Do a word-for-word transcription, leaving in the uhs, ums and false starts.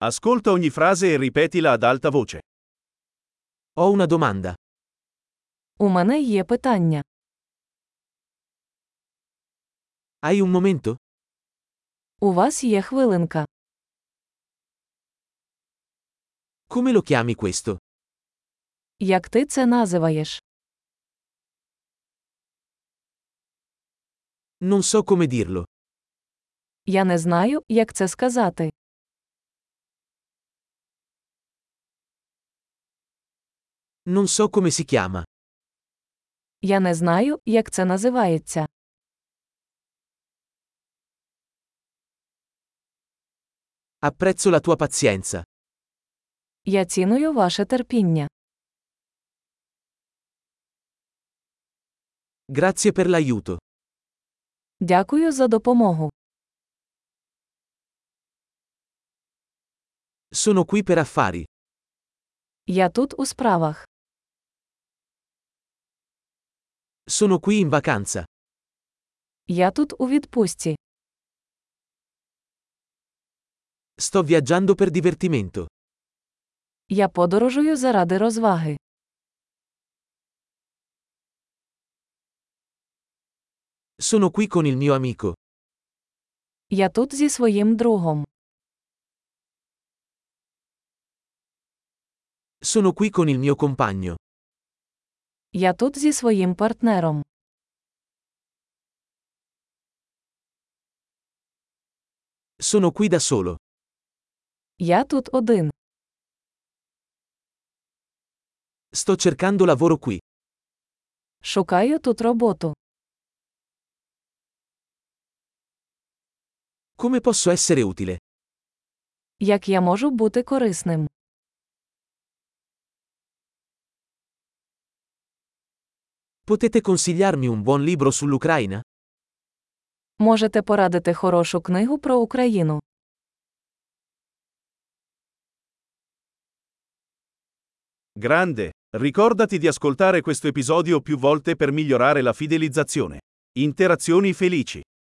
Ascolta ogni frase e ripetila ad alta voce. Ho una domanda. У мене є питання. Hai un momento? У вас є хвилинка. Come lo chiami questo? Як ти це називаєш? Non so come dirlo. Я не знаю, як це сказати. Non so come si chiama. Я не знаю, як це називається. Apprezzo la tua pazienza. Я ціную ваше терпіння. Grazie per l'aiuto. Дякую за допомогу. Sono qui per affari. Я тут у справах. Sono qui in vacanza. Я тут у відпустці. Sto viaggiando per divertimento. Я подорожую заради розваги. Sono qui con il mio amico. Я тут зі своїм другом. Sono qui con il mio compagno. Я тут зі своїм партнером. Sono qui da solo. Я тут один. Sto cercando lavoro qui. Шукаю тут роботу. Come posso essere utile? Як я можу бути корисним? Potete consigliarmi un buon libro sull'Ucraina? Можете порадити хорошу книгу про Україну? Grande! Ricordati di ascoltare questo episodio più volte per migliorare la fidelizzazione. Interazioni felici.